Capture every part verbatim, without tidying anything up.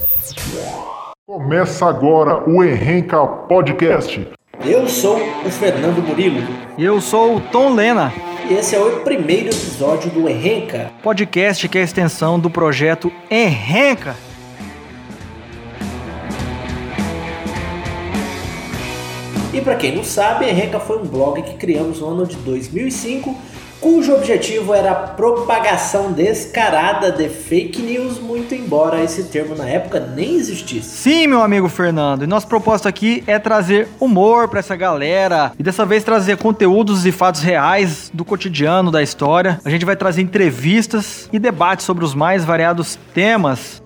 Começa agora o Enrenca Podcast. Eu sou o Fernando Murilo. E eu sou o Tom Lena. E esse é o primeiro episódio do Enrenca Podcast, que é a extensão do projeto Enrenca. E para quem não sabe, Enrenca foi um blog que criamos no ano de dois mil e cinco, cujo objetivo era a propagação descarada de fake news, muito embora esse termo na época nem existisse. Sim, meu amigo Fernando, e nosso propósito aqui é trazer humor pra essa galera, e dessa vez trazer conteúdos e fatos reais do cotidiano, da história. A gente vai trazer entrevistas e debates sobre os mais variados temas.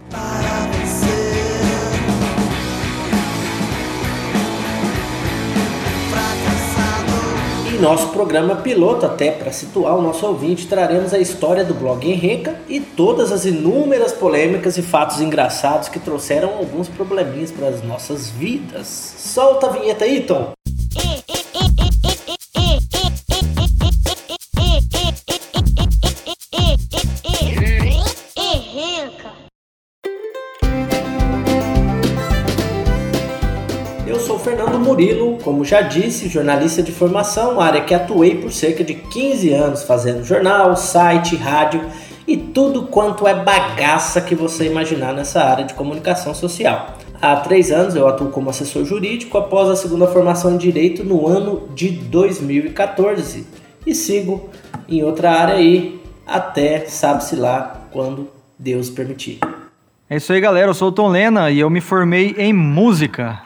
Em nosso programa piloto, até para situar o nosso ouvinte, traremos a história do blog Enrenca e todas as inúmeras polêmicas e fatos engraçados que trouxeram alguns probleminhas para as nossas vidas. Solta a vinheta aí, Tom! Eu sou Fernando Murilo, como já disse, jornalista de formação, área que atuei por cerca de quinze anos fazendo jornal, site, rádio e tudo quanto é bagaça que você imaginar nessa área de comunicação social. Há três anos eu atuo como assessor jurídico após a segunda formação em Direito no ano de dois mil e catorze e sigo em outra área aí até sabe-se lá quando Deus permitir. É isso aí, galera, eu sou o Tom Lena e eu me formei em música.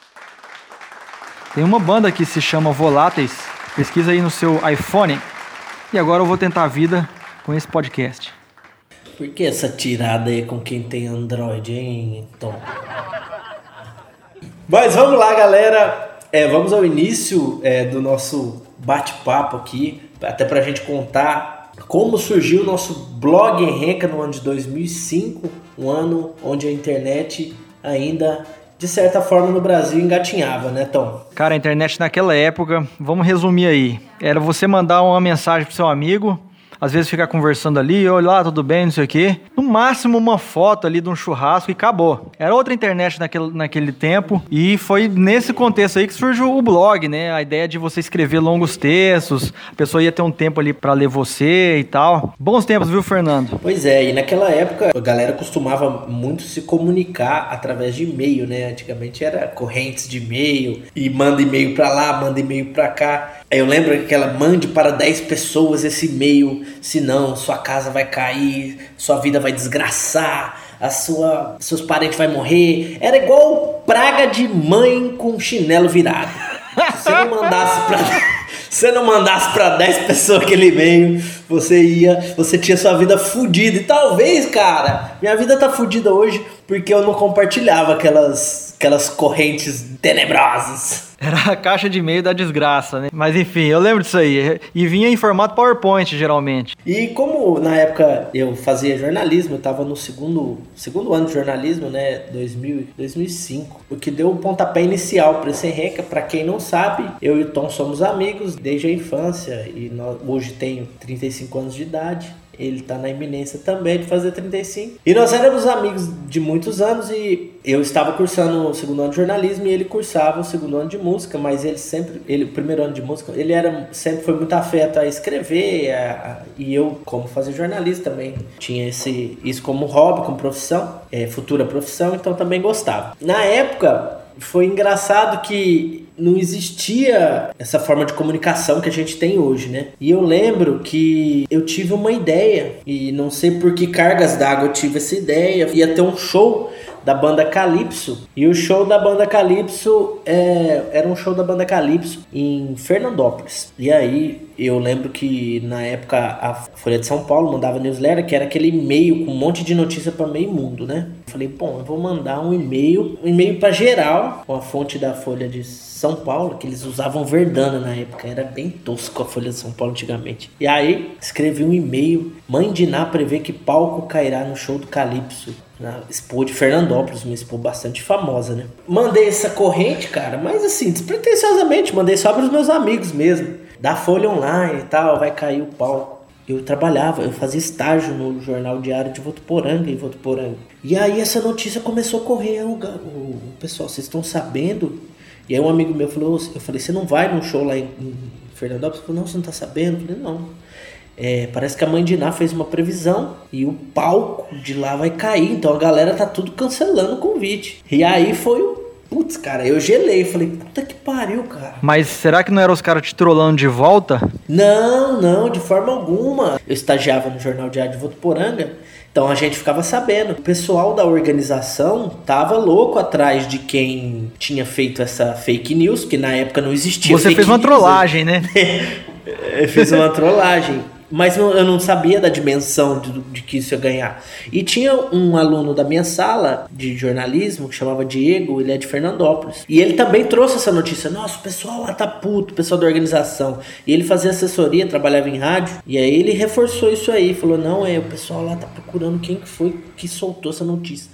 Tem uma banda que se chama Voláteis, pesquisa aí no seu iPhone. E agora eu vou tentar a vida com esse podcast. Por que essa tirada aí com quem tem Android, hein, Tom? Mas vamos lá, galera. É, vamos ao início é, do nosso bate-papo aqui, até pra gente contar como surgiu o nosso blog Enrenca no ano de dois mil e cinco, um ano onde a internet ainda, de certa forma, no Brasil engatinhava, né, Tom? Cara, a internet naquela época, vamos resumir aí, era você mandar uma mensagem pro seu amigo, às vezes ficar conversando ali, olha lá, tudo bem, não sei o quê. No máximo uma foto ali de um churrasco e acabou. Era outra internet naquele, naquele tempo e foi nesse contexto aí que surgiu o blog, né? A ideia de você escrever longos textos, a pessoa ia ter um tempo ali pra ler você e tal. Bons tempos, viu, Fernando? Pois é, e naquela época a galera costumava muito se comunicar através de e-mail, né? Antigamente era correntes de e-mail e manda e-mail pra lá, manda e-mail pra cá. Eu lembro que ela mande para dez pessoas esse e-mail, senão sua casa vai cair, sua vida vai desgraçar, a sua, seus parentes vão morrer. Era igual praga de mãe com chinelo virado. Se você não mandasse pra, se você não mandasse para dez pessoas aquele e-mail, você ia, você tinha sua vida fodida. E talvez, cara, minha vida tá fodida hoje porque eu não compartilhava aquelas, aquelas correntes tenebrosas. Era a caixa de e-mail da desgraça, né? Mas enfim, eu lembro disso aí. E vinha em formato PowerPoint, geralmente. E como na época eu fazia jornalismo, eu tava no segundo, segundo ano de jornalismo, né? dois mil, dois mil e cinco. O que deu o pontapé inicial para esse Enrenca. Pra quem não sabe, eu e o Tom somos amigos desde a infância. E nós, hoje tenho trinta e cinco anos de idade. Ele tá na iminência também de fazer trinta e cinco. E nós éramos amigos de muitos anos e eu estava cursando o segundo ano de jornalismo e ele cursava o segundo ano de música, mas ele sempre, ele, o primeiro ano de música, ele era, sempre foi muito afeto a escrever a, a, e eu, como fazer jornalismo também, tinha esse, isso como hobby, como profissão, é, futura profissão, então também gostava. Na época, foi engraçado que não existia essa forma de comunicação que a gente tem hoje, né? E eu lembro que eu tive uma ideia, e não sei por que cargas d'água eu tive essa ideia, ia ter um show da banda Calypso, e o show da banda Calypso é, era um show da banda Calypso em Fernandópolis. E aí eu lembro que na época a Folha de São Paulo mandava newsletter, que era aquele e-mail com um monte de notícia para meio mundo, né? Eu falei, bom, eu vou mandar um e-mail, um e-mail para geral, com a fonte da Folha de São Paulo, que eles usavam Verdana na época, era bem tosco a Folha de São Paulo antigamente. E aí escrevi um e-mail, mãe de Ná prevê que palco cairá no show do Calypso, na Expo de Fernandópolis, uma expo bastante famosa, né? Mandei essa corrente, cara, mas assim, despretensiosamente, mandei só para os meus amigos mesmo, da Folha Online e tal, vai cair o palco. eu trabalhava, eu fazia estágio no Jornal Diário de Votuporanga, em Votuporanga. E aí essa notícia começou a correr, o, o pessoal, vocês estão sabendo? E aí um amigo meu falou, eu falei, você não vai num show lá em, em Fernandópolis? Ele falou, não, você não tá sabendo? Eu falei, não. É, parece que a mãe de Ná fez uma previsão e o palco de lá vai cair, então a galera tá tudo cancelando o convite. E aí foi o... Putz, cara, eu gelei, falei, puta que pariu, cara. Mas será que não eram os caras te trollando de volta? Não, não, de forma alguma. Eu estagiava no Jornal Diário de Votuporanga, então a gente ficava sabendo. O pessoal da organização tava louco atrás de quem tinha feito essa fake news, que na época não existia. Você fez uma news, trollagem, né? Eu fiz uma trollagem. Mas eu não sabia da dimensão de, de que isso ia ganhar. E tinha um aluno da minha sala de jornalismo que chamava Diego, ele é de Fernandópolis. E ele também trouxe essa notícia. Nossa, o pessoal lá tá puto, o pessoal da organização. E ele fazia assessoria, trabalhava em rádio. E aí ele reforçou isso aí. Falou, não, é, o pessoal lá tá procurando quem que foi que soltou essa notícia.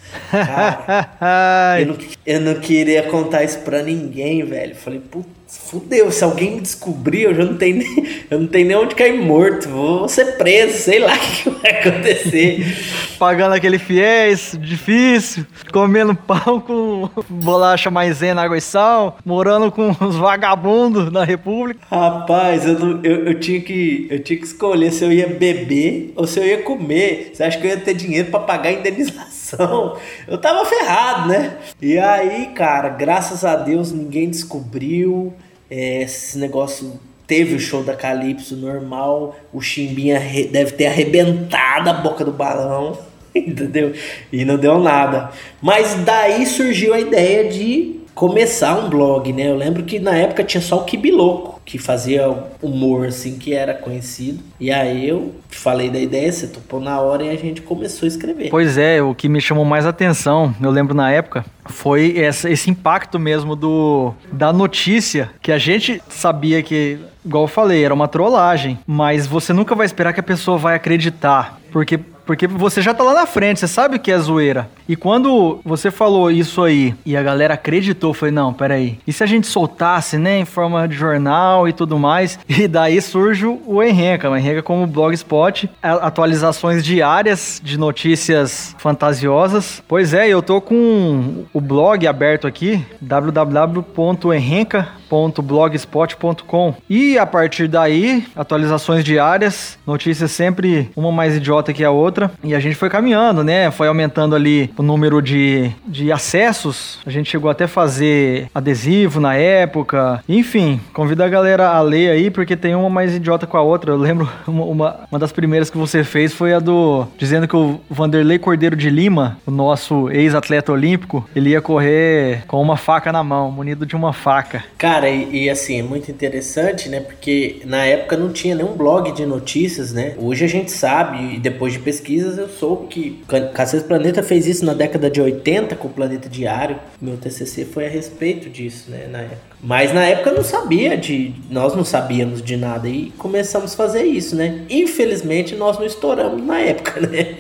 Cara, eu, não, eu não queria contar isso pra ninguém, velho. Falei, puta. Fudeu, se alguém me descobrir, eu já não tenho nem, eu não tenho nem onde cair morto, vou ser preso, sei lá o que vai acontecer. Pagando aquele fiéis, difícil, comendo pão com bolacha maisena, água e sal, morando com os vagabundos na República. Rapaz, eu, não, eu, eu, tinha que, eu tinha que escolher se eu ia beber ou se eu ia comer. Você acha que eu ia ter dinheiro pra pagar a indenização? Eu tava ferrado, né? E aí, cara, graças a Deus ninguém descobriu. É, esse negócio teve o show da Calypso normal, o Chimbinha deve ter arrebentado a boca do balão, entendeu? E não deu nada. Mas daí surgiu a ideia de começar um blog, né? Eu lembro que na época tinha só o Kibiloco, que fazia humor, assim, que era conhecido. E aí eu falei da ideia, você topou na hora e a gente começou a escrever. Pois é, o que me chamou mais atenção, eu lembro na época, foi essa, esse impacto mesmo do, da notícia, que a gente sabia que, igual eu falei, era uma trollagem, mas você nunca vai esperar que a pessoa vai acreditar, porque... Porque você já tá lá na frente, você sabe o que é zoeira. E quando você falou isso aí e a galera acreditou, eu falei, não, peraí. E se a gente soltasse, né, em forma de jornal e tudo mais? E daí surge o Enrenca. O Enrenca como blogspot, atualizações diárias de notícias fantasiosas. Pois é, eu tô com o blog aberto aqui, w w w ponto enrenca ponto blogspot ponto com. E a partir daí, atualizações diárias, notícias sempre uma mais idiota que a outra. E a gente foi caminhando, né? Foi aumentando ali o número de, de acessos. A gente chegou até a fazer adesivo na época. Enfim, convido a galera a ler aí, porque tem uma mais idiota com a outra. Eu lembro, uma, uma, uma das primeiras que você fez foi a do... Dizendo que o Vanderlei Cordeiro de Lima, o nosso ex-atleta olímpico, ele ia correr com uma faca na mão, munido de uma faca. Cara, e, e assim, é muito interessante, né? Porque na época não tinha nenhum blog de notícias, né? Hoje a gente sabe, e depois de pesquisas, eu soube que Cacete Planeta fez isso na década de oitenta com o Planeta Diário. Meu T C C foi a respeito disso, né, na época. Mas na época eu não sabia de... Nós não sabíamos de nada e começamos a fazer isso, né? Infelizmente nós não estouramos na época, né?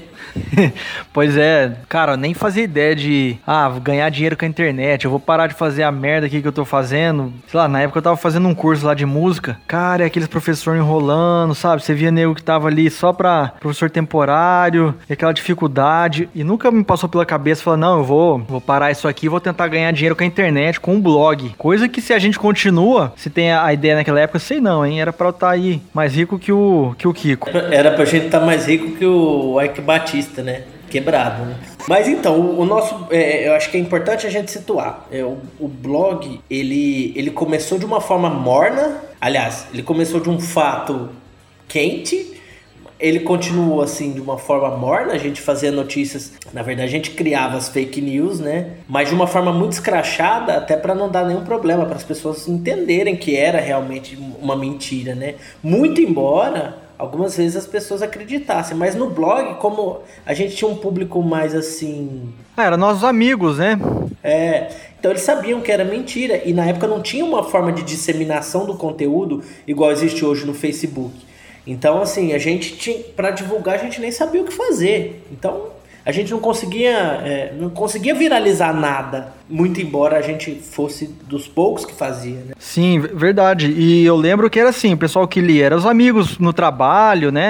Pois é, cara, eu nem fazia ideia de ah, ganhar dinheiro com a internet, eu vou parar de fazer a merda aqui que eu tô fazendo. Sei lá, na época eu tava fazendo um curso lá de música. Cara, e aqueles professores enrolando, sabe? Você via nego que tava ali só pra professor temporário, e aquela dificuldade. E nunca me passou pela cabeça falar, não, eu vou, vou parar isso aqui, vou tentar ganhar dinheiro com a internet, com um blog. Coisa que se a gente continua, se tem a ideia naquela época, sei não, hein? Era pra eu estar aí mais rico que o, que o Kiko. Era pra gente estar mais rico que o Ike Batista, né? Quebrado, né? Mas então, o, o nosso, é, eu acho que é importante a gente situar. É, o, o blog, ele, ele começou de uma forma morna. Aliás, ele começou de um fato quente. Ele continuou assim de uma forma morna. A gente fazia notícias, na verdade a gente criava as fake news, né? Mas de uma forma muito escrachada, até para não dar nenhum problema, para as pessoas entenderem que era realmente uma mentira, né? Muito embora algumas vezes as pessoas acreditassem, mas no blog, como a gente tinha um público mais assim... Ah, eram nossos amigos, né? É, então eles sabiam que era mentira, e na época não tinha uma forma de disseminação do conteúdo igual existe hoje no Facebook. Então, assim, a gente tinha, para divulgar, a gente nem sabia o que fazer. Então, a gente não conseguia, é, não conseguia viralizar nada, muito embora a gente fosse dos poucos que fazia, né? Sim, verdade. E eu lembro que era assim, o pessoal que lia eram os amigos no trabalho, né?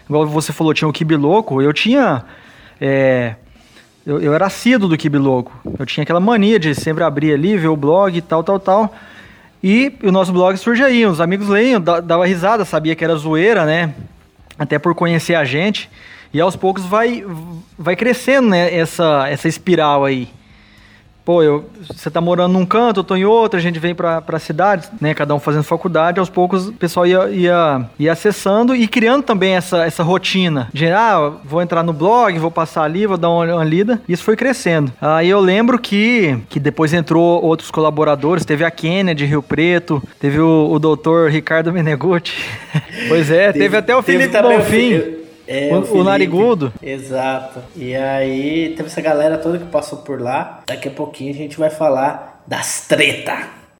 igual você falou, tinha o Quibe Louco, eu tinha... É, eu, eu era assíduo do Quibe Louco. Eu tinha aquela mania de sempre abrir ali, ver o blog e tal, tal, tal. E o nosso blog surge aí, os amigos leiam, dava risada, sabia que era zoeira, né? Até por conhecer a gente. E aos poucos vai, vai crescendo, né, essa, essa espiral aí. Pô, eu, você tá morando num canto, eu tô em outro, a gente vem pra, pra cidade, né, cada um fazendo faculdade, aos poucos o pessoal ia, ia, ia acessando e criando também essa, essa rotina de, ah, vou entrar no blog, vou passar ali, vou dar uma, uma lida, e isso foi crescendo. Aí eu lembro que, que depois entrou outros colaboradores, teve a Kênia de Rio Preto, teve o, o doutor Ricardo Menegutti, pois é, teve, teve até o Felipe Bonfim. É, o, o, Felipe, o Narigudo. Exato. E aí teve essa galera toda que passou por lá. Daqui a pouquinho a gente vai falar das treta.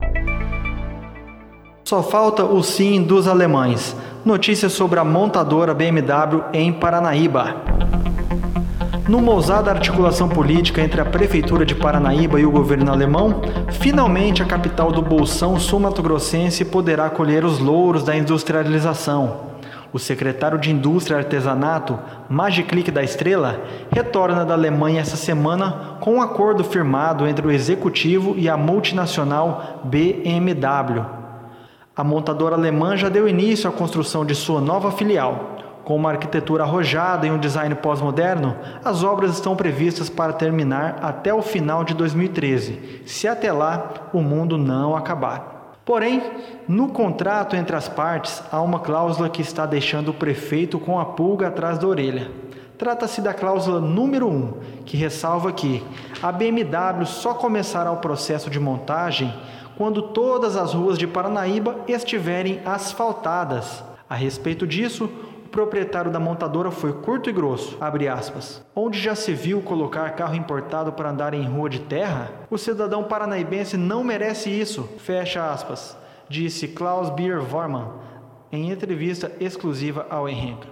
Só falta o sim dos alemães. Notícias sobre a montadora B M W em Paranaíba. Numa ousada articulação política entre a Prefeitura de Paranaíba e o governo alemão, finalmente a capital do Bolsão sul-mato-grossense poderá colher os louros da industrialização. O secretário de Indústria e Artesanato, Magiclick da Estrela, retorna da Alemanha essa semana com um acordo firmado entre o executivo e a multinacional B M W. A montadora alemã já deu início à construção de sua nova filial. Com uma arquitetura arrojada e um design pós-moderno, as obras estão previstas para terminar até o final de dois mil e treze, se até lá o mundo não acabar. Porém, no contrato entre as partes, há uma cláusula que está deixando o prefeito com a pulga atrás da orelha. Trata-se da cláusula número um, que ressalva que a B M W só começará o processo de montagem quando todas as ruas de Paranaíba estiverem asfaltadas. A respeito disso, o proprietário da montadora foi curto e grosso, abre aspas. Onde já se viu colocar carro importado para andar em rua de terra? O cidadão paranaíbense não merece isso, fecha aspas, disse Klaus Bier Vormann em entrevista exclusiva ao Henrique.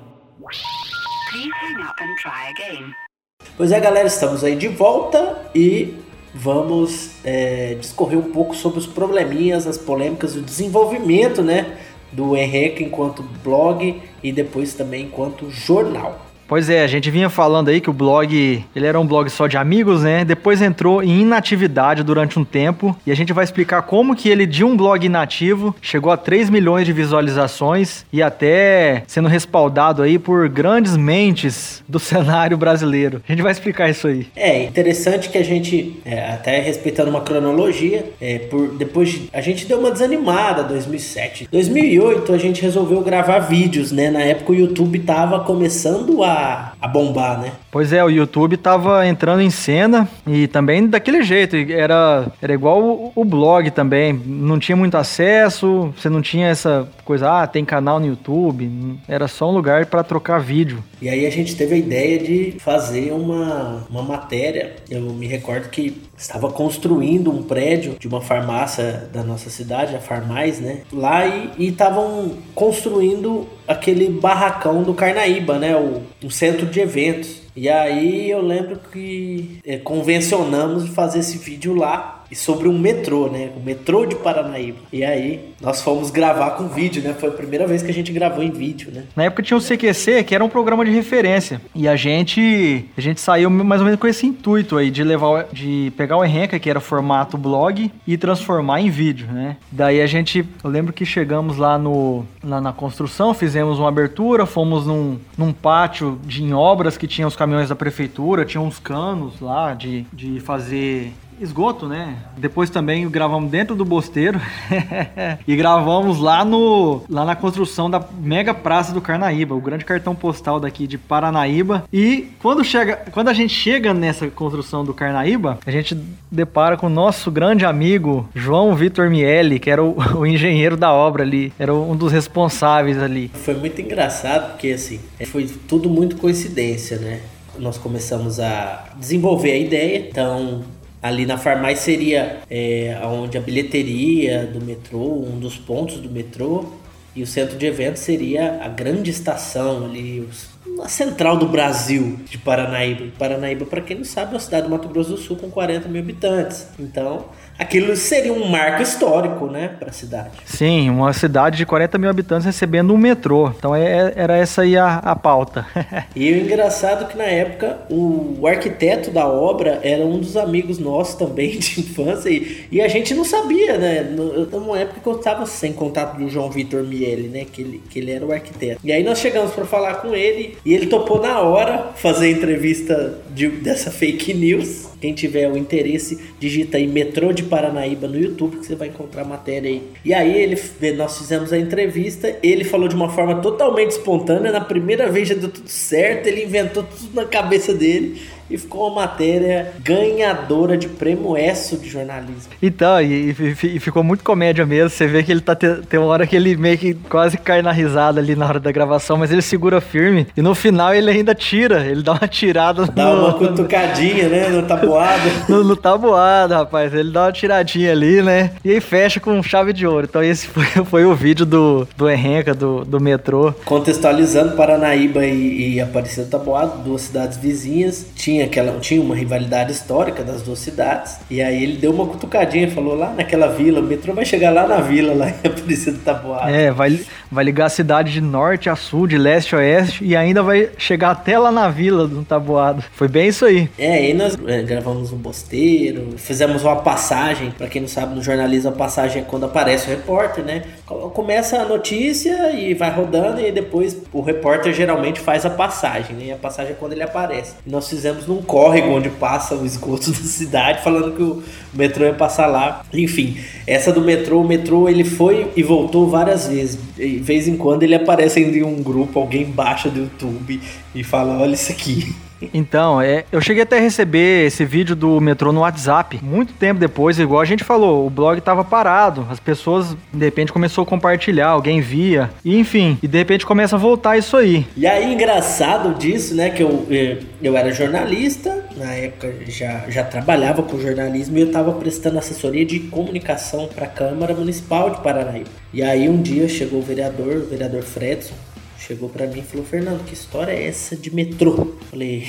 Pois é, galera, estamos aí de volta e vamos é, discorrer um pouco sobre os probleminhas, as polêmicas, o desenvolvimento, né, do Henrique enquanto blog e depois também enquanto jornal. Pois é, a gente vinha falando aí que o blog, ele era um blog só de amigos, né? Depois entrou em inatividade durante um tempo e a gente vai explicar como que ele, de um blog inativo, chegou a três milhões de visualizações e até sendo respaldado aí por grandes mentes do cenário brasileiro. A gente vai explicar isso aí. É interessante que a gente, é, até respeitando uma cronologia, é, por, depois de, a gente deu uma desanimada em dois mil e sete. Em dois mil e oito a gente resolveu gravar vídeos, né? Na época o YouTube tava começando a a bombar, né? Pois é, o YouTube tava entrando em cena e também daquele jeito, era, era igual o, o blog também, não tinha muito acesso, você não tinha essa coisa, ah, tem canal no YouTube, era só um lugar para trocar vídeo. E aí a gente teve a ideia de fazer uma, uma matéria, eu me recordo que estava construindo um prédio de uma farmácia da nossa cidade, a Farmais, né? Lá e estavam construindo aquele barracão do Carnaíba, né? O, um centro de eventos. E aí eu lembro que é, convencionamos de fazer esse vídeo lá sobre um metrô, né? O metrô de Paranaíba. E aí nós fomos gravar com vídeo, né? Foi a primeira vez que a gente gravou em vídeo, né? Na época tinha o C Q C, que era um programa de referência. E a gente, a gente saiu mais ou menos com esse intuito aí, de levar, de pegar o Henrique, que era formato blog, e transformar em vídeo, né? Daí a gente, eu lembro que chegamos lá, no, lá na construção, fizemos uma abertura, fomos num, num pátio de, em obras que tinha os caminhões da prefeitura, tinha uns canos lá de, de fazer esgoto, né? Depois também gravamos dentro do Bosteiro e gravamos lá, no, lá na construção da mega praça do Carnaíba, o grande cartão postal daqui de Paranaíba. E quando, chega, quando a gente chega nessa construção do Carnaíba, a gente depara com o nosso grande amigo João Vitor Miele, que era o, o engenheiro da obra ali, era um dos responsáveis ali. Foi muito engraçado porque assim, foi tudo muito coincidência, né? Nós começamos a desenvolver a ideia, então ali na Farmais seria é, onde a bilheteria do metrô, um dos pontos do metrô, e o centro de eventos seria a grande estação ali, os, na central do Brasil de Paranaíba. Paranaíba, para quem não sabe, é uma cidade do Mato Grosso do Sul com quarenta mil habitantes. Então, aquilo seria um marco histórico, né, para a cidade. Sim, uma cidade de quarenta mil habitantes recebendo um metrô. Então é, era essa aí a, a pauta. E o engraçado é que na época o, o arquiteto da obra era um dos amigos nossos também de infância e, e a gente não sabia, né? No, numa época que eu estava sem contato do João Vitor Miele, né? Que ele, que ele era o arquiteto. E aí nós chegamos para falar com ele e ele topou na hora fazer a entrevista de, dessa fake news. Quem tiver o interesse, digita aí Metrô de Paranaíba no YouTube que você vai encontrar a matéria aí. E aí ele, nós fizemos a entrevista, ele falou de uma forma totalmente espontânea, na primeira vez já deu tudo certo, ele inventou tudo na cabeça dele e ficou uma matéria ganhadora de prêmio ESSO de jornalismo. Então, e, e, e ficou muito comédia mesmo, você vê que ele tá te, tem uma hora que ele meio que quase cai na risada ali na hora da gravação, mas ele segura firme e no final ele ainda tira, ele dá uma tirada dá no, uma cutucadinha, né, no tabuado. no, no tabuado, rapaz, ele dá uma tiradinha ali, né, e aí fecha com chave de ouro. Então esse foi, foi o vídeo do, do Enrenca, do, do metrô. Contextualizando, Paranaíba e, e Aparecida do Taboado, duas cidades vizinhas, tinha Aquela, tinha uma rivalidade histórica das duas cidades, e aí ele deu uma cutucadinha, falou lá naquela vila, o metrô vai chegar lá na vila, lá em Aparecida do Taboado. É, vai, vai ligar a cidade de norte a sul, de leste a oeste, e ainda vai chegar até lá na vila do Taboado. Foi bem isso aí. É, aí nós é, gravamos um bosteiro, fizemos uma passagem, pra quem não sabe, no jornalismo a passagem é quando aparece o repórter, né? Começa a notícia e vai rodando, e depois o repórter geralmente faz a passagem, né? E a passagem é quando ele aparece. E nós fizemos num córrego onde passa o esgoto da cidade, falando que o metrô ia passar lá. Enfim, essa do metrô, o metrô ele foi e voltou várias vezes. De vez em quando ele aparece em um grupo, alguém baixa do YouTube e fala, olha isso aqui. Então, é, eu cheguei até a receber esse vídeo do metrô no WhatsApp, muito tempo depois, igual a gente falou, o blog tava parado, as pessoas de repente começou a compartilhar, alguém via, e enfim, e de repente começa a voltar isso aí. E aí, engraçado disso, né, que eu, eu era jornalista, na época já, já trabalhava com jornalismo e eu tava prestando assessoria de comunicação para a Câmara Municipal de Paranaíba. E aí um dia chegou o vereador, o vereador Fredson, chegou pra mim e falou, Fernando, que história é essa de metrô? Falei...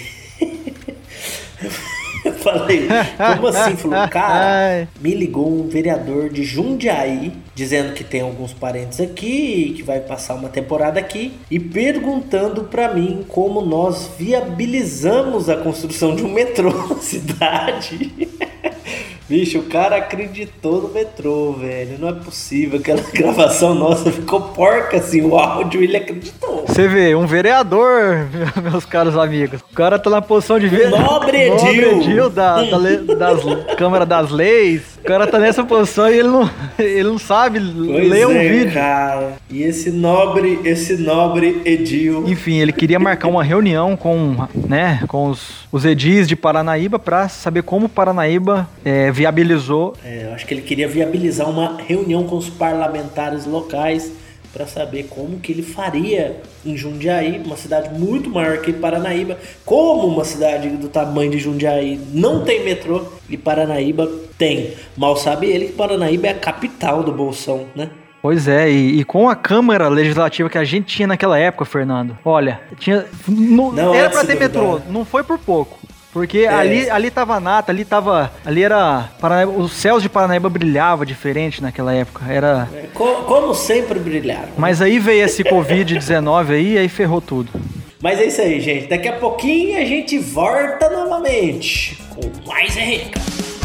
Falei, como assim? Falou, cara, me ligou um vereador de Jundiaí, dizendo que tem alguns parentes aqui, que vai passar uma temporada aqui, e perguntando pra mim como nós viabilizamos a construção de um metrô na cidade. Bicho, o cara acreditou no metrô, velho. Não é possível. Aquela gravação nossa ficou porca, assim, o áudio, ele acreditou. Você vê, um vereador, meus caros amigos. O cara tá na posição de ver... Nobre Edil. Nobre Edil da, da le... das Câmara das Leis. O cara tá nessa posição e ele não, ele não sabe pois ler um é, vídeo. Cara. E esse nobre, esse nobre Edil... Enfim, ele queria marcar uma reunião com, né, com os, os edis de Paranaíba pra saber como Paranaíba é, viabilizou. É, eu acho que ele queria viabilizar uma reunião com os parlamentares locais para saber como que ele faria em Jundiaí, uma cidade muito maior que Paranaíba, como uma cidade do tamanho de Jundiaí não tem metrô e Paranaíba tem. Mal sabe ele que Paranaíba é a capital do Bolsão, né? Pois é, e, e com a Câmara Legislativa que a gente tinha naquela época, Fernando, olha, tinha, no, não, era pra ter duvidar. metrô, não foi por pouco. Porque é. ali, ali tava nata, ali tava. Ali era. Paranaíba, os céus de Paranaíba brilhavam diferente naquela época. Era. É, co- como sempre brilharam. Mas aí veio esse covid dezenove aí, aí ferrou tudo. Mas é isso aí, gente. Daqui a pouquinho a gente volta novamente com mais Enrenca.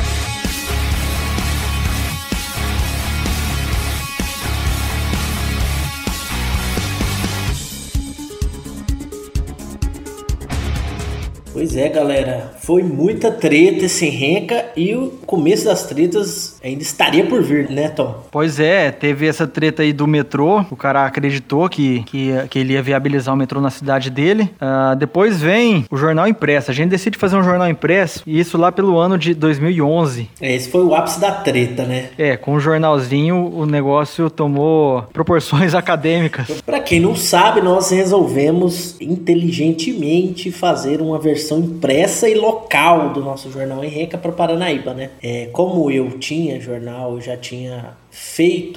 Pois é, galera, foi muita treta esse Enrenca e o começo das tretas ainda estaria por vir, né, Tom? Pois é, teve essa treta aí do metrô, o cara acreditou que, que, que ele ia viabilizar o metrô na cidade dele. Uh, depois vem o jornal impresso, a gente decide fazer um jornal impresso, e isso lá pelo ano de dois mil e onze. É, esse foi o ápice da treta, né? É, com o jornalzinho o negócio tomou proporções acadêmicas. Pra quem não sabe, nós resolvemos inteligentemente fazer uma versão impressa e local do nosso jornal Enrenca para Paranaíba, né? É, como eu tinha jornal, eu já tinha feito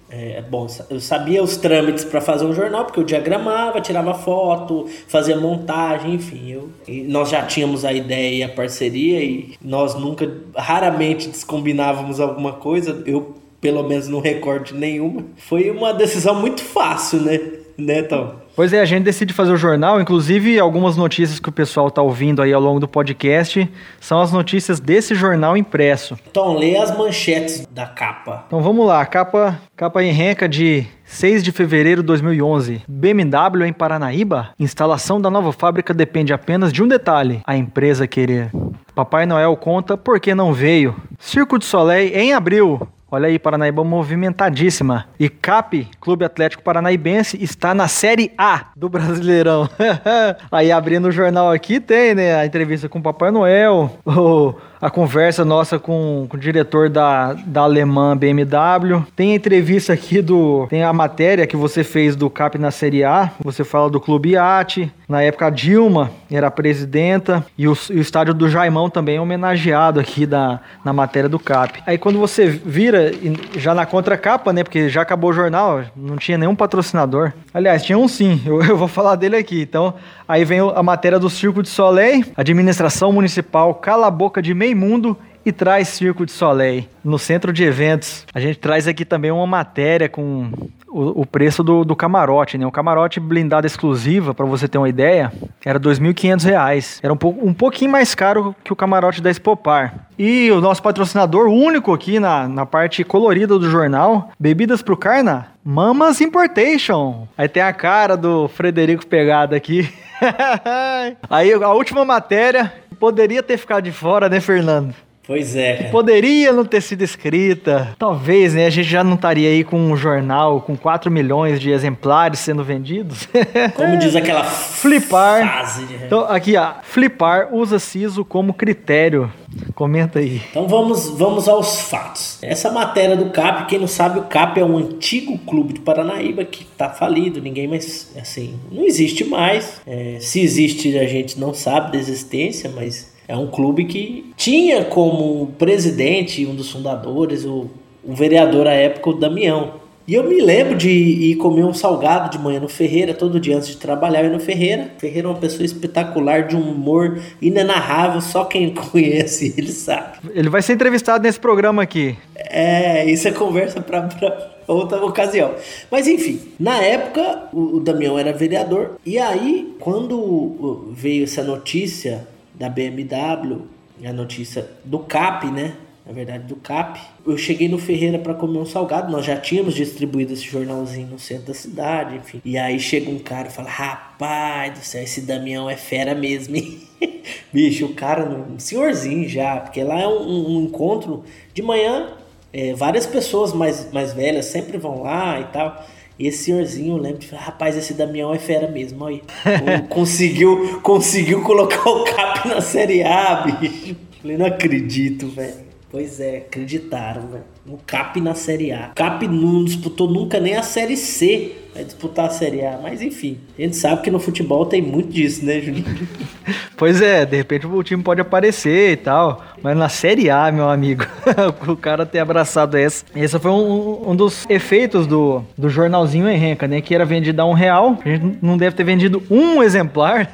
É, bom, eu sabia os trâmites para fazer um jornal, porque eu diagramava, tirava foto, fazia montagem, enfim. Eu, e nós já tínhamos a ideia e a parceria e nós nunca, raramente descombinávamos alguma coisa. Eu, pelo menos, não recordo de nenhuma. Foi uma decisão muito fácil, né, né, Tom? Pois é, a gente decide fazer o jornal, inclusive algumas notícias que o pessoal está ouvindo aí ao longo do podcast são as notícias desse jornal impresso. Então, lê as manchetes da capa. Então vamos lá, capa, capa em renca de seis de fevereiro de dois mil e onze. B M W em Paranaíba? Instalação da nova fábrica depende apenas de um detalhe, a empresa querer. Papai Noel conta por que não veio. Circo de Soleil em abril. Olha aí, Paranaíba movimentadíssima. E C A P, Clube Atlético Paranaíbense, está na Série A do Brasileirão. Aí, abrindo o jornal aqui, tem, né, a entrevista com o Papai Noel, o, a conversa nossa com, com o diretor da, da alemã B M W. Tem a entrevista aqui do... Tem a matéria que você fez do C A P na Série A. Você fala do Clube Iate. Na época, a Dilma era a presidenta. E o, e o estádio do Jaimão também é homenageado aqui da, na matéria do C A P. Aí, quando você vira, já na contracapa, né? Porque já acabou o jornal, não tinha nenhum patrocinador. Aliás, tinha um sim, eu, eu vou falar dele aqui. Então, aí vem a matéria do Circo de Soleil. Administração Municipal cala a boca de meio mundo e traz Circo de Soleil no centro de eventos. A gente traz aqui também uma matéria com o, o preço do, do camarote, né? O camarote blindado exclusiva, para você ter uma ideia, era dois mil e quinhentos reais. Era um, pouco, um pouquinho mais caro que o camarote da Expopar. E o nosso patrocinador único aqui na, na parte colorida do jornal, Bebidas pro Carna, Mamas Importation. Aí tem a cara do Frederico Pegada aqui. Aí a última matéria poderia ter ficado de fora, né, Fernando? Pois é. Que poderia não ter sido escrita. Talvez, né? A gente já não estaria aí com um jornal com quatro milhões de exemplares sendo vendidos. Como diz aquela Flipar. frase. De... Então, aqui, ó. Flipar usa siso como critério. Comenta aí. Então vamos, vamos aos fatos. Essa matéria do C A P, quem não sabe, o C A P é um antigo clube de Paranaíba que tá falido. Ninguém mais, assim, não existe mais. É, se existe, a gente não sabe da existência, mas... É um clube que tinha como presidente, um dos fundadores, o, o vereador à época, o Damião. E eu me lembro de ir comer um salgado de manhã no Ferreira, todo dia antes de trabalhar, eu ia no Ferreira. O Ferreira é uma pessoa espetacular, de um humor inenarrável, só quem conhece ele sabe. Ele vai ser entrevistado nesse programa aqui. É, isso é conversa para outra ocasião. Mas enfim, na época o, o Damião era vereador, e aí quando veio essa notícia... da B M W, a notícia do C A P, né? Na verdade, do C A P. Eu cheguei no Ferreira para comer um salgado. Nós já tínhamos distribuído esse jornalzinho no centro da cidade, enfim. E aí chega um cara e fala: rapaz do céu, esse Damião é fera mesmo, hein? Bicho, o cara, um senhorzinho já, porque lá é um, um encontro de manhã. É, várias pessoas mais, mais velhas sempre vão lá e tal. E esse senhorzinho, eu lembro de falar, rapaz, esse Damião é fera mesmo, olha aí. conseguiu, conseguiu colocar o C A P na Série A, bicho. Falei, não acredito, velho. Pois é, acreditaram, velho. O C A P na Série A. O C A P não disputou nunca nem a Série C. Vai disputar a Série A. Mas enfim, a gente sabe que no futebol tem muito disso, né, Juninho? Pois é, de repente o time pode aparecer e tal. Mas na Série A, meu amigo, o cara ter abraçado essa. Esse foi um, um dos efeitos do, do jornalzinho em renca, né? Que era vendido a um real. A gente não deve ter vendido um exemplar.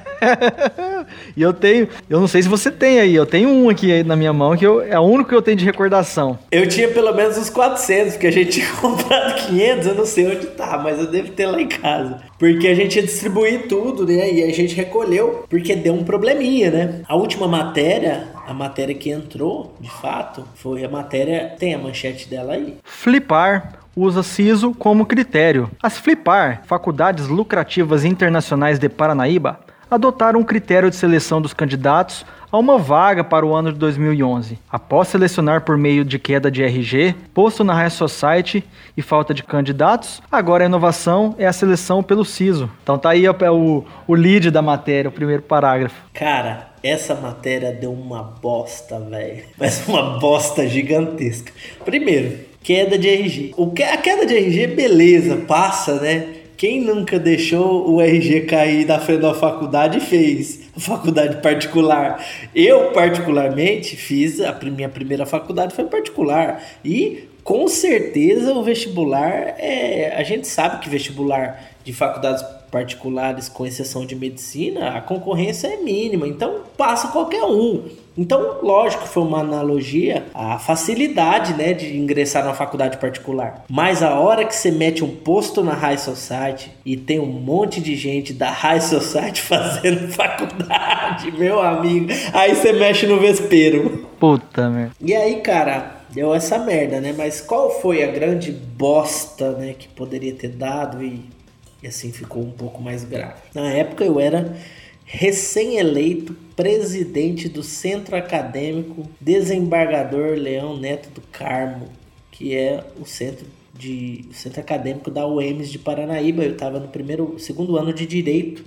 E eu tenho, eu não sei se você tem aí, eu tenho um aqui aí na minha mão, que eu, é o único que eu tenho de recordação. Eu tinha pelo menos uns quatrocentos, porque a gente tinha comprado quinhentos, eu não sei onde tá, mas eu devo ter lá em casa. Porque a gente ia distribuir tudo, né, e a gente recolheu, porque deu um probleminha, né. A última matéria, a matéria que entrou, de fato, foi a matéria, tem a manchete dela aí. Flipar usa siso como critério. As Flipar, Faculdades Lucrativas Internacionais de Paranaíba, adotaram um critério de seleção dos candidatos a uma vaga para o ano de dois mil e onze. Após selecionar por meio de queda de R G, posto na High Society e falta de candidatos, agora a inovação é a seleção pelo siso. Então tá aí o, o lead da matéria, o primeiro parágrafo. Cara, essa matéria deu uma bosta, velho. Mas uma bosta gigantesca. Primeiro, queda de R G. O que, a queda de R G, beleza, passa, né? Quem nunca deixou o R G cair na frente da faculdade fez a faculdade particular. Eu, particularmente, fiz a minha primeira faculdade foi particular. E com certeza o vestibular, é, a gente sabe que vestibular de faculdades particulares, com exceção de medicina, a concorrência é mínima, então passa qualquer um. Então, lógico, foi uma analogia à facilidade, né, de ingressar na faculdade particular. Mas a hora que você mete um posto na High Society e tem um monte de gente da High Society fazendo faculdade, meu amigo, aí você mexe no vespeiro. Puta merda. E aí, cara, deu essa merda, né? Mas qual foi a grande bosta, né, que poderia ter dado e, e assim ficou um pouco mais grave? Na época eu era recém-eleito presidente do Centro Acadêmico Desembargador Leão Neto do Carmo, que é o centro, de, o centro acadêmico da U E M S de Paranaíba. Eu estava no primeiro, segundo ano de Direito.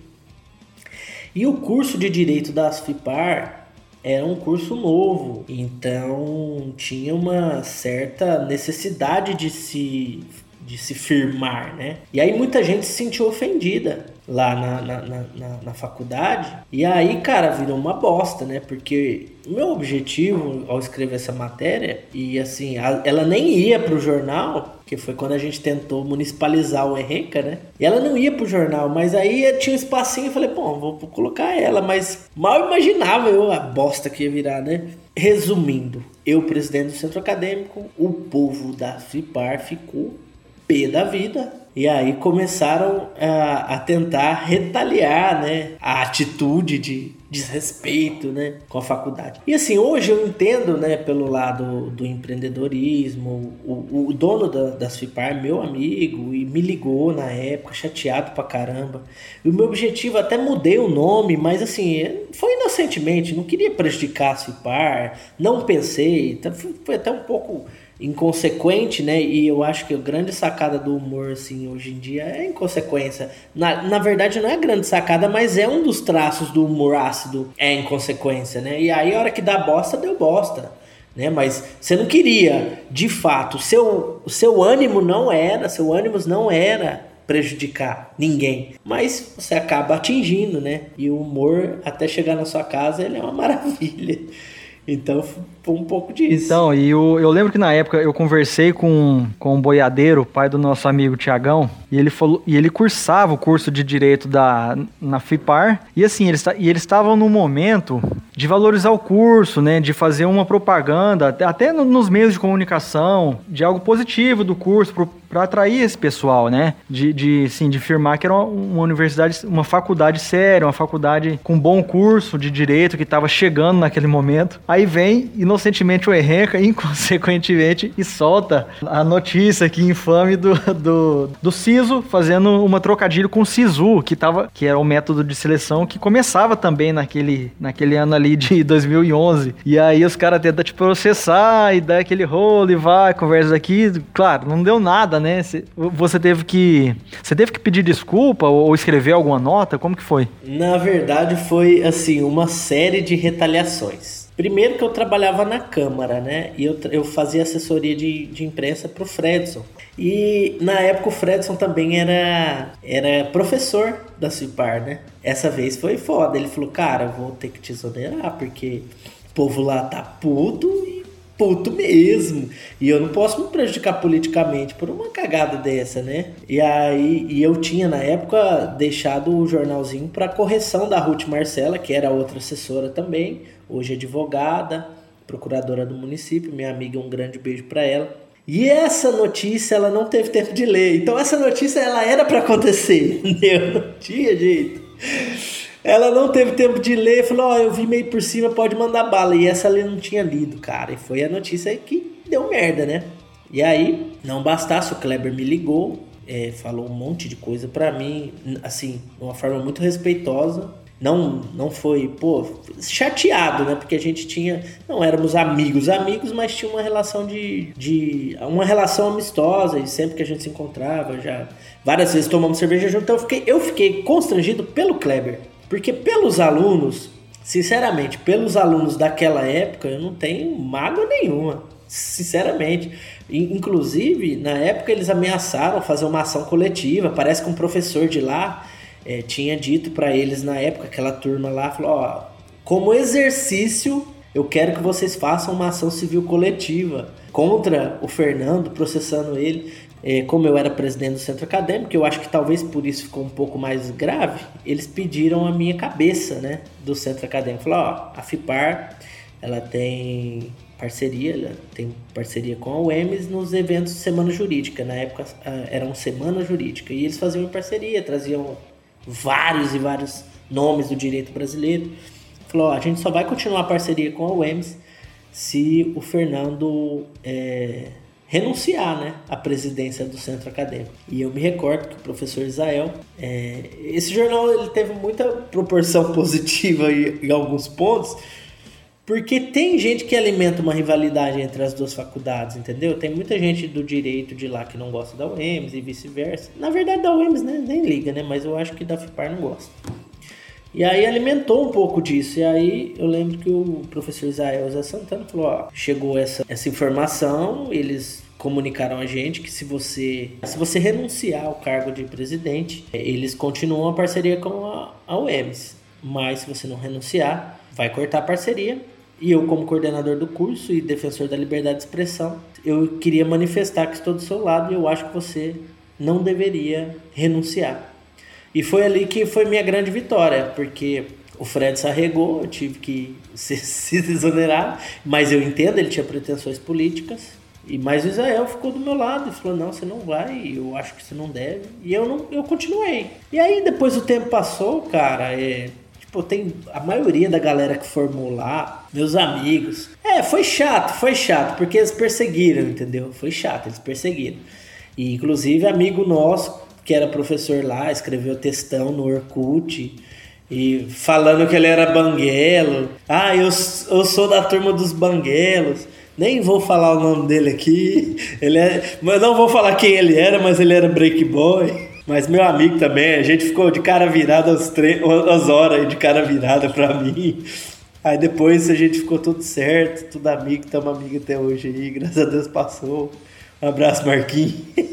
E o curso de Direito da ASFIPAR era um curso novo, então tinha uma certa necessidade de se, de se firmar, né? E aí muita gente se sentiu ofendida lá na, na, na, na, na faculdade. E aí, cara, virou uma bosta, né? Porque o meu objetivo ao escrever essa matéria, e assim, a, ela nem ia pro jornal, que foi quando a gente tentou municipalizar o Erenca, né? E ela não ia pro jornal, mas aí tinha um espacinho e falei, pô, vou colocar ela, mas mal imaginava eu a bosta que ia virar, né? Resumindo, eu, presidente do centro acadêmico, o povo da FIPAR ficou pé da vida. E aí começaram a, a tentar retaliar, né, a atitude de desrespeito, né, com a faculdade. E assim, hoje eu entendo, né, pelo lado do empreendedorismo, o, o dono da, das FIPAR é meu amigo e me ligou na época, chateado pra caramba. E o meu objetivo, até mudei o nome, mas assim, foi inocentemente, não queria prejudicar as FIPAR, não pensei, foi até um pouco inconsequente, né? E eu acho que a grande sacada do humor, assim, hoje em dia é a inconsequência. Na, na verdade, não é a grande sacada, mas é um dos traços do humor ácido, é a inconsequência, né? E aí, a hora que dá bosta, deu bosta, né? Mas você não queria, de fato, o seu, o seu ânimo não era, seu ânimo não era prejudicar ninguém, mas você acaba atingindo, né? E o humor, até chegar na sua casa, ele é uma maravilha. Então, foi um pouco disso. Então, e eu, eu lembro que na época eu conversei com, com o Boiadeiro, pai do nosso amigo Tiagão, e ele falou, e ele cursava o curso de Direito da, na FIPAR, e assim, eles, e eles estavam no momento de valorizar o curso, né, de fazer uma propaganda, até, até nos meios de comunicação, de algo positivo do curso, para atrair esse pessoal, né, de, de, assim, de afirmar que era uma, uma universidade, uma faculdade séria, uma faculdade com bom curso de Direito, que estava chegando naquele momento. Aí vem, inocentemente, o Erenca, inconsequentemente, e solta a notícia aqui infame do, do, do Sisu, fazendo uma trocadilho com o Sisu, que, tava, que era o método de seleção que começava também naquele, naquele ano ali de dois mil e onze. E aí os caras tentam te processar e dar aquele rolo e vai, conversa aqui. Claro, não deu nada, né? Você teve que, você teve que pedir desculpa ou escrever alguma nota? Como que foi? Na verdade, foi, assim, uma série de retaliações. Primeiro que eu trabalhava na Câmara, né? E eu, eu fazia assessoria de, de imprensa pro Fredson. E na época o Fredson também era, era professor da FIPAR, né? Essa vez foi foda. Ele falou, cara, eu vou ter que te exonerar, porque o povo lá tá puto e puto mesmo. E eu não posso me prejudicar politicamente por uma cagada dessa, né? E aí, e eu tinha na época deixado o jornalzinho para correção da Ruth Marcela, que era outra assessora também, hoje advogada, procuradora do município, minha amiga, um grande beijo para ela. E essa notícia ela não teve tempo de ler. Então essa notícia ela era para acontecer, entendeu? Não tinha jeito. Ela não teve tempo de ler, falou, ó, oh, eu vi meio por cima, pode mandar bala. E essa ela não tinha lido, cara. E foi a notícia que deu merda, né? E aí, não bastasse, o Kleber me ligou, é, falou um monte de coisa pra mim, assim, de uma forma muito respeitosa. Não, não foi, pô, chateado, né? Porque a gente tinha, não éramos amigos, amigos, mas tinha uma relação de, de uma relação amistosa, e sempre que a gente se encontrava, já várias vezes tomamos cerveja junto. Então eu fiquei, eu fiquei constrangido pelo Kleber, porque pelos alunos, sinceramente, pelos alunos daquela época, eu não tenho mágoa nenhuma, sinceramente. Inclusive, na época eles ameaçaram fazer uma ação coletiva, parece que um professor de lá É, tinha dito para eles na época, aquela turma lá, falou, ó, como exercício eu quero que vocês façam uma ação civil coletiva contra o Fernando, processando ele. É, como eu era presidente do centro acadêmico, eu acho que talvez por isso ficou um pouco mais grave, eles pediram a minha cabeça, né, do centro acadêmico. Falaram, ó, a FIPAR, ela tem parceria, ela tem parceria com a U E M S nos eventos de Semana Jurídica. Na época eram Semana Jurídica, e eles faziam parceria, traziam vários e vários nomes do direito brasileiro. Falou, ó, a gente só vai continuar a parceria com a U E M S se o Fernando é, renunciar, né, à presidência do centro acadêmico. E eu me recordo que o professor Israel, é, esse jornal ele teve muita proporção positiva em, em alguns pontos, porque tem gente que alimenta uma rivalidade entre as duas faculdades, entendeu? Tem muita gente do direito de lá que não gosta da U E M S e vice-versa. Na verdade, da U E M S né, nem liga, né? Mas eu acho que da FIPAR não gosta. E aí alimentou um pouco disso. E aí eu lembro que o professor Israel Zé Santana falou, ó, chegou essa, essa informação, eles comunicaram a gente que se você, se você renunciar ao cargo de presidente, eles continuam a parceria com a, a U E M S. Mas se você não renunciar, vai cortar a parceria. E eu, como coordenador do curso e defensor da liberdade de expressão, eu queria manifestar que estou do seu lado e eu acho que você não deveria renunciar. E foi ali que foi minha grande vitória, porque o Fred se arregou, eu tive que se, se desonerar, mas eu entendo, ele tinha pretensões políticas. E mas o Israel ficou do meu lado e falou, não, você não vai, eu acho que você não deve. E eu, não, eu continuei. E aí depois o tempo passou, cara, é... Pô, tem a maioria da galera que formou lá, meus amigos. É, foi chato, foi chato, porque eles perseguiram, entendeu? Foi chato, eles perseguiram. E, inclusive, amigo nosso, que era professor lá, escreveu textão no Orkut, e falando que ele era banguelo. Ah, eu, eu sou da turma dos banguelos. Nem vou falar o nome dele aqui. Ele é, mas não vou falar quem ele era, mas ele era break boy. Mas meu amigo também, a gente ficou de cara virada às, tre- às horas de cara virada pra mim. Aí depois a gente ficou tudo certo, tudo amigo, estamos amigos até hoje aí, graças a Deus passou. Um abraço, Marquinhos.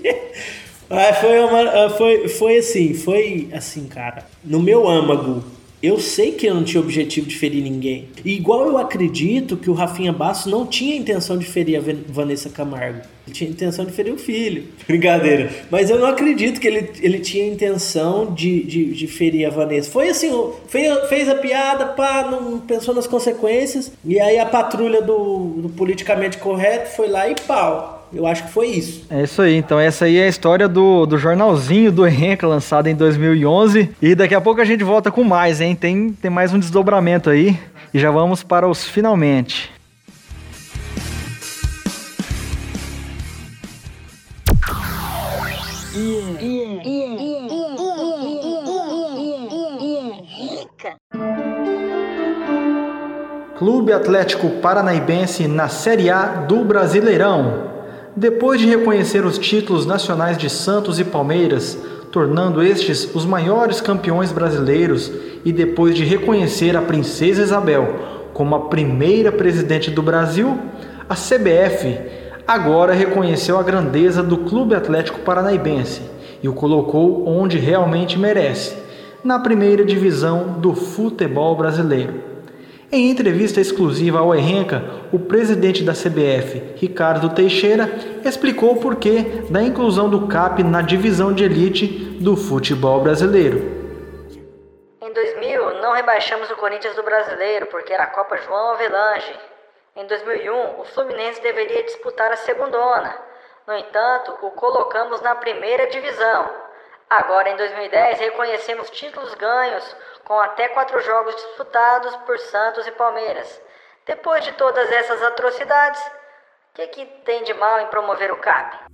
Aí foi, uma, foi, foi assim, foi assim, cara, no meu âmago, eu sei que eu não tinha objetivo de ferir ninguém. E igual eu acredito que o Rafinha Bastos não tinha intenção de ferir a Vanessa Camargo. Ele tinha intenção de ferir o filho. Brincadeira. Mas eu não acredito que ele, ele tinha intenção de, de, de ferir a Vanessa. Foi assim, fez, fez a piada, pá, não pensou nas consequências. E aí a patrulha do, do politicamente correto foi lá e pau. Eu acho que foi isso. É isso aí. Então essa aí é a história do, do jornalzinho do Erenca, lançado em dois mil e onze. E daqui a pouco a gente volta com mais, hein? Tem, tem mais um desdobramento aí. E já vamos para os finalmente. Clube Atlético Paranaíbense na Série A do Brasileirão. Depois de reconhecer os títulos nacionais de Santos e Palmeiras, tornando estes os maiores campeões brasileiros, e depois de reconhecer a Princesa Isabel como a primeira presidente do Brasil, a C B F agora reconheceu a grandeza do Clube Atlético Paranaíbense e o colocou onde realmente merece, na primeira divisão do futebol brasileiro. Em entrevista exclusiva ao Erenca, o presidente da C B F, Ricardo Teixeira, explicou o porquê da inclusão do C A P na divisão de elite do futebol brasileiro. Em dois mil, não rebaixamos o Corinthians do Brasileiro porque era a Copa João Avelange. Em dois mil e um, o Fluminense deveria disputar a segundona. No entanto, o colocamos na primeira divisão. Agora, em dois mil e dez, reconhecemos títulos ganhos com até quatro jogos disputados por Santos e Palmeiras. Depois de todas essas atrocidades, o que, que tem de mal em promover o C A P?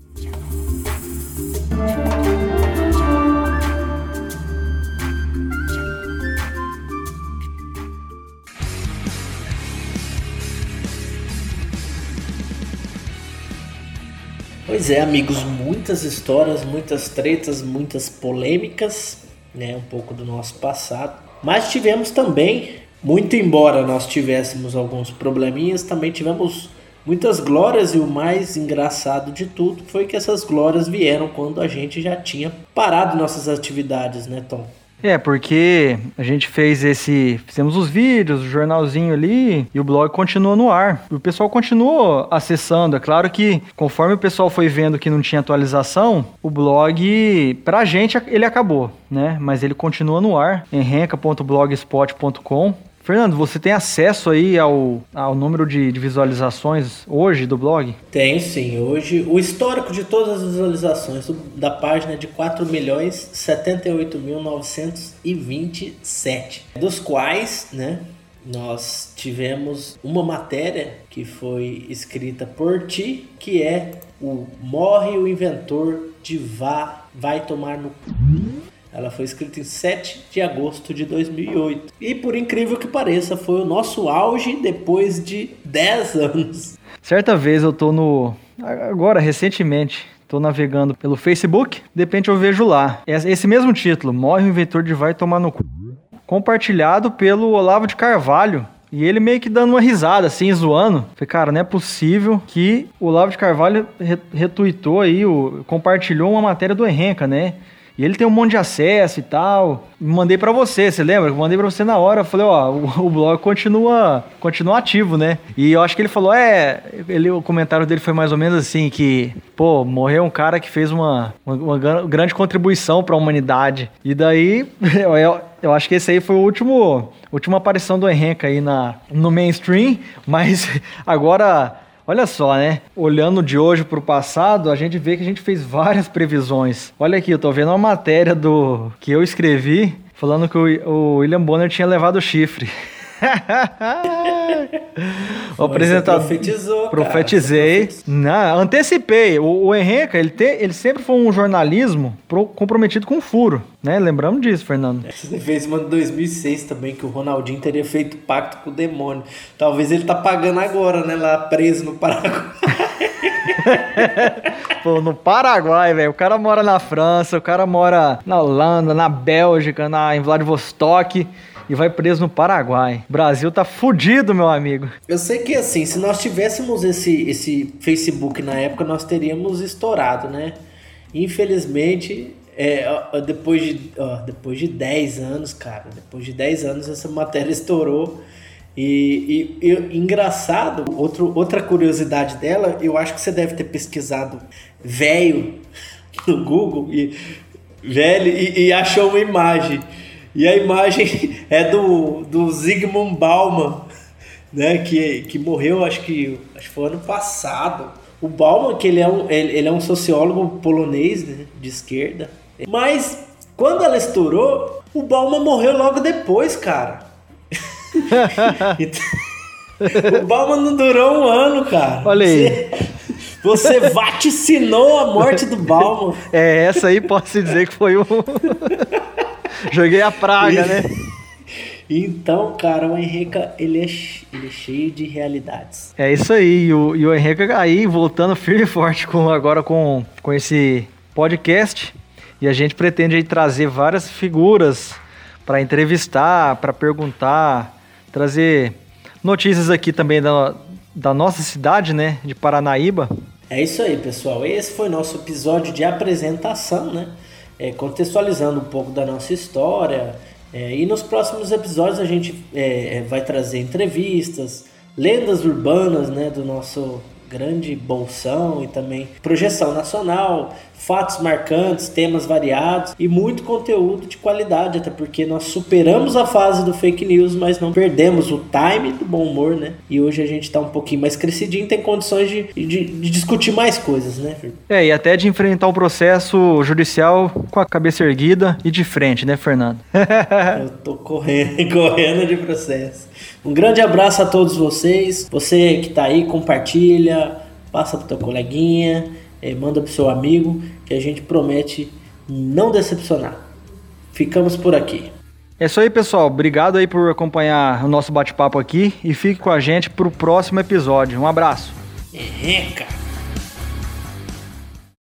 Pois é, amigos, muitas histórias, muitas tretas, muitas polêmicas, né, um pouco do nosso passado. Mas tivemos também, muito embora nós tivéssemos alguns probleminhas, também tivemos muitas glórias, e o mais engraçado de tudo foi que essas glórias vieram quando a gente já tinha parado nossas atividades, né, Tom? É, porque a gente fez esse... Fizemos os vídeos, o jornalzinho ali, e o blog continua no ar. O pessoal continuou acessando. É claro que, conforme o pessoal foi vendo que não tinha atualização, o blog, pra gente, ele acabou, né? Mas ele continua no ar, em renca ponto blogspot ponto com. Fernando, você tem acesso aí ao, ao número de, de visualizações hoje do blog? Tenho sim. Hoje, o histórico de todas as visualizações do, da página é de quatro milhões setenta e oito mil novecentos e vinte e sete, dos quais, né, nós tivemos uma matéria que foi escrita por ti, que é o Morre o Inventor de Vá, Vai Tomar no C. Ela foi escrita em sete de agosto de dois mil e oito. E por incrível que pareça, foi o nosso auge depois de dez anos. Certa vez eu tô no... Agora, recentemente, tô navegando pelo Facebook. De repente eu vejo lá. Esse mesmo título, Morre o Inventor de Vai Tomar no C. Compartilhado pelo Olavo de Carvalho. E ele meio que dando uma risada, assim, zoando. Falei, cara, não é possível que o Olavo de Carvalho retuitou aí, o... compartilhou uma matéria do Erenca, né? E ele tem um monte de acesso e tal. Mandei pra você, você lembra? Mandei pra você na hora. Eu falei, ó, o, o blog continua, continua ativo, né? E eu acho que ele falou, é... Ele, o comentário dele foi mais ou menos assim, que... Pô, morreu um cara que fez uma, uma, uma grande contribuição pra humanidade. E daí, eu, eu, eu acho que esse aí foi o último... Última aparição do Erenca aí na, no mainstream. Mas agora... Olha só, né? Olhando de hoje para o passado, a gente vê que a gente fez várias previsões. Olha aqui, eu tô vendo uma matéria do que eu escrevi falando que o, o William Bonner tinha levado o chifre. O apresentador profetizou, profetizei, não, antecipei. O, o Erenca, ele, te, ele sempre foi um jornalismo pro, comprometido com furo, né? Lembramos disso, Fernando. Você fez uma de dois mil e seis também, que o Ronaldinho teria feito pacto com o demônio. Talvez ele tá pagando agora, né? Lá preso no Paraguai. Pô, no Paraguai, velho. O cara mora na França, o cara mora na Holanda, na Bélgica, na, em Vladivostok. E vai preso no Paraguai. O Brasil tá fudido, meu amigo. Eu sei que, assim, se nós tivéssemos esse, esse Facebook na época, nós teríamos estourado, né? Infelizmente, é, depois, de, ó, depois de dez anos, cara, depois de dez anos essa matéria estourou. E, e, e engraçado, outro, outra curiosidade dela, eu acho que você deve ter pesquisado velho no Google e, velho, e, e achou uma imagem. E a imagem é do, do Zygmunt Bauman, né, que, que morreu, acho que, acho que foi ano passado. O Bauman, que ele é um, ele, ele é um sociólogo polonês, né, de esquerda. Mas, quando ela estourou, o Bauman morreu logo depois, cara. O Bauman não durou um ano, cara. Olha aí. Você, você vaticinou a morte do Bauman. É, essa aí posso dizer que foi o... Joguei a praga, né? Então, cara, o Erenca, ele é, ele é cheio de realidades. É isso aí, e o, e o Erenca aí voltando firme e forte com, agora com, com esse podcast. E a gente pretende aí trazer várias figuras para entrevistar, para perguntar, trazer notícias aqui também da, da nossa cidade, né, de Paranaíba. É isso aí, pessoal. Esse foi nosso episódio de apresentação, né? É, contextualizando um pouco da nossa história, é, e nos próximos episódios a gente é, vai trazer entrevistas, lendas urbanas, né, do nosso grande bolsão e também projeção nacional, fatos marcantes, temas variados e muito conteúdo de qualidade, até porque nós superamos a fase do fake news, mas não perdemos o time do bom humor, né? E hoje a gente tá um pouquinho mais crescidinho, tem condições de, de, de discutir mais coisas, né, Fernando? É, e até de enfrentar o processo judicial com a cabeça erguida e de frente, né, Fernando? Eu tô correndo, correndo de processo. Um grande abraço a todos vocês. Você que tá aí, compartilha, passa pro teu coleguinha, eh, manda pro seu amigo, que a gente promete não decepcionar. Ficamos por aqui. É isso aí, pessoal. Obrigado aí por acompanhar o nosso bate-papo aqui e fique com a gente pro próximo episódio. Um abraço. Erenca!